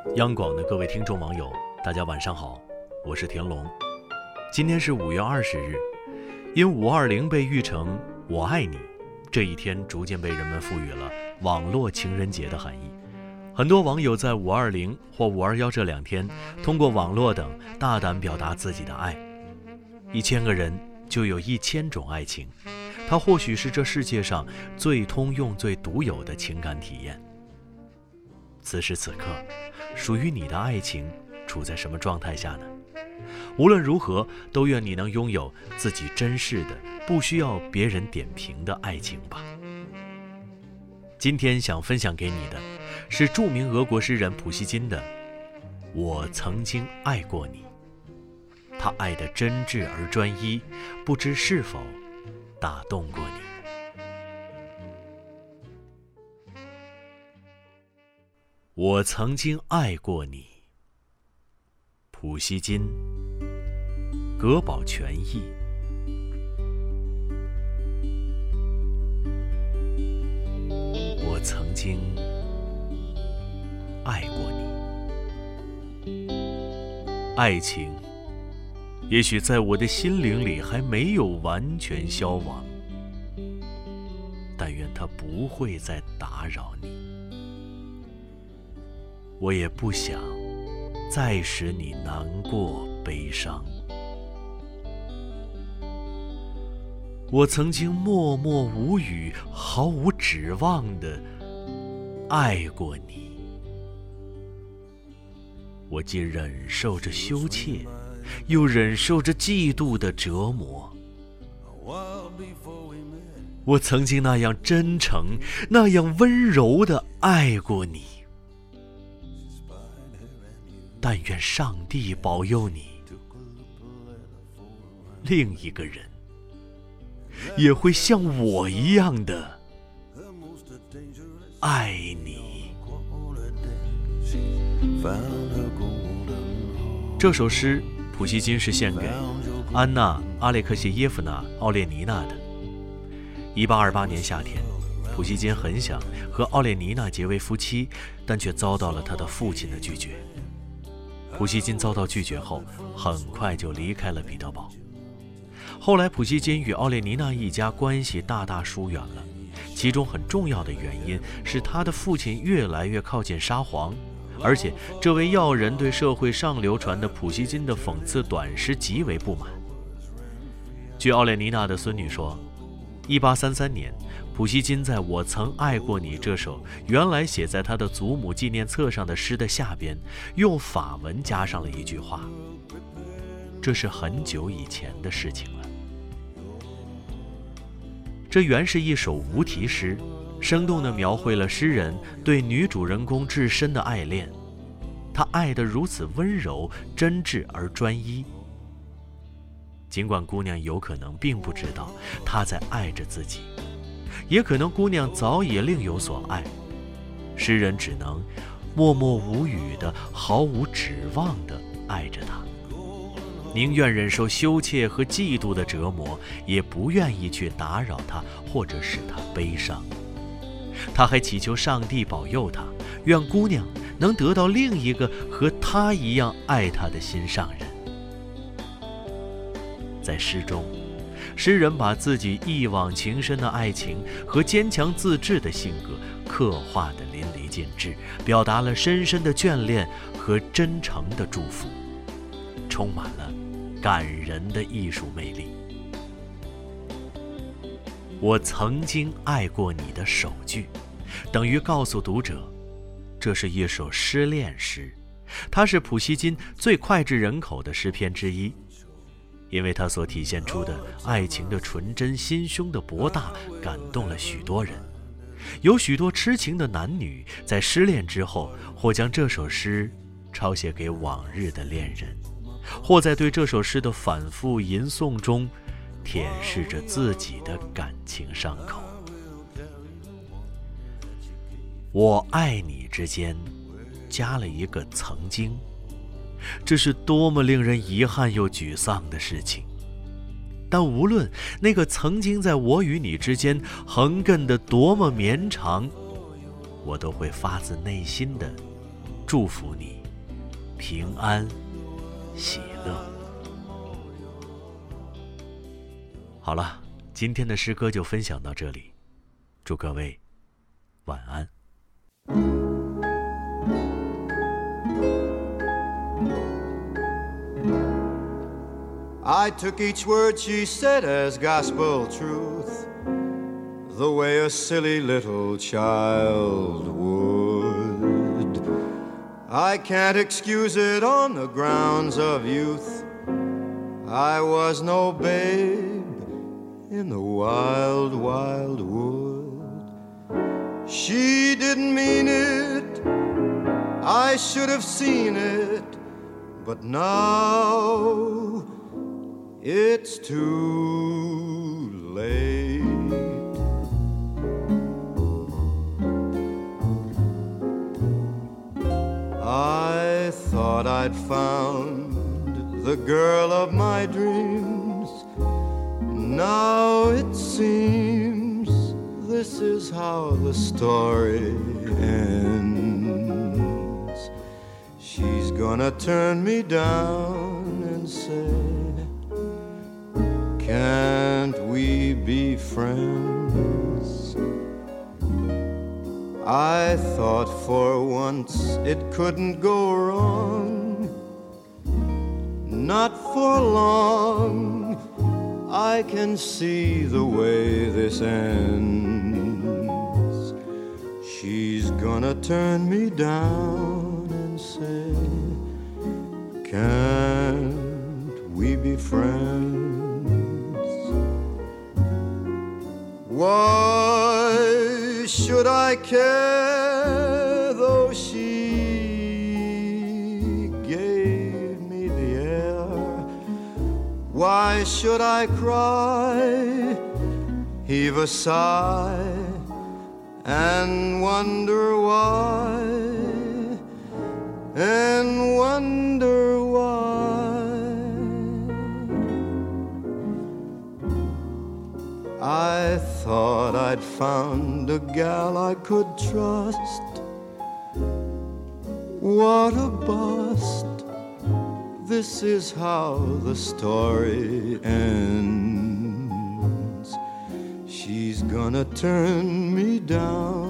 央广的各位听众网友，大家晚上好，我是田龙。今天是5月20日，因520被誉成我爱你，这一天逐渐被人们赋予了网络情人节的含义。很多网友在520或521这2天，通过网络等大胆表达自己的爱。1000个人就有1000种爱情，它或许是这世界上最通用最独有的情感体验。此时此刻，属于你的爱情处在什么状态下呢？无论如何，都愿你能拥有自己珍视的，不需要别人点评的爱情吧。今天想分享给你的是著名俄国诗人普希金的《我曾经爱过你》，他爱得真挚而专一，不知是否打动过你。我曾经爱过你，普希金，葛宝全译。我曾经爱过你，爱情也许在我的心灵里还没有完全消亡，但愿它不会再打扰你。我也不想再使你难过悲伤。我曾经默默无语，毫无指望地爱过你。我既忍受着羞怯，又忍受着嫉妒的折磨。我曾经那样真诚，那样温柔地爱过你。但愿上帝保佑你，另一个人也会像我一样的爱你。这首诗普希金是献给安娜·阿列克谢耶夫娜·奥列尼娜的。1828年夏天，普希金很想和奥列尼娜结为夫妻，但却遭到了他的父亲的拒绝。普希金遭到拒绝后，很快就离开了彼得堡。后来普希金与奥列尼娜一家关系大大疏远了，其中很重要的原因是他的父亲越来越靠近沙皇，而且这位要人对社会上流传的普希金的讽刺短诗极为不满。据奥列尼娜的孙女说，1833年普希金在我曾爱过你这首原来写在他的祖母纪念册上的诗的下边，用法文加上了一句话。这是很久以前的事情了。这原是一首无题诗，生动地描绘了诗人对女主人公至深的爱恋。他爱得如此温柔、真挚而专一。尽管姑娘有可能并不知道他在爱着自己，也可能姑娘早已另有所爱，诗人只能默默无语的、毫无指望的爱着她，宁愿忍受羞怯和嫉妒的折磨，也不愿意去打扰她或者使她悲伤。他还祈求上帝保佑她，愿姑娘能得到另一个和他一样爱她的心上人。在诗中，诗人把自己一往情深的爱情和坚强自制的性格刻画得淋漓尽致，表达了深深的眷恋和真诚的祝福，充满了感人的艺术魅力。我曾经爱过你的首句，等于告诉读者，这是一首失恋诗，它是普希金最脍炙人口的诗篇之一。因为它所体现出的爱情的纯真、心胸的博大，感动了许多人。有许多痴情的男女在失恋之后，或将这首诗抄写给往日的恋人，或在对这首诗的反复吟诵中舔舐着自己的感情伤口。我爱你之间加了一个曾经，这是多么令人遗憾又沮丧的事情。但无论那个曾经在我与你之间横亘的多么绵长，我都会发自内心的祝福你平安喜乐。好了，今天的诗歌就分享到这里，祝各位晚安。 I took each word she said as gospel truth, the way a silly little child would. I can't excuse it on the grounds of youth. I was no babe in the wild, wild wood. She didn't mean it, I should have seen it, but now it's too late. I thought I'd found the girl of my dreams. Now it seems this is how the story ends. She's gonna turn me down and say, can't we be friends? I thought for once it couldn't go wrong. Not for long, I can see the way this ends. She's gonna turn me down and say, can't we be friends? Why should I care though she gave me the air? Why should I cry, heave a sigh, and wonder why, and wonder why? I thought I'd found a gal I could trust. What a bust. This is how the story ends. She's gonna turn me down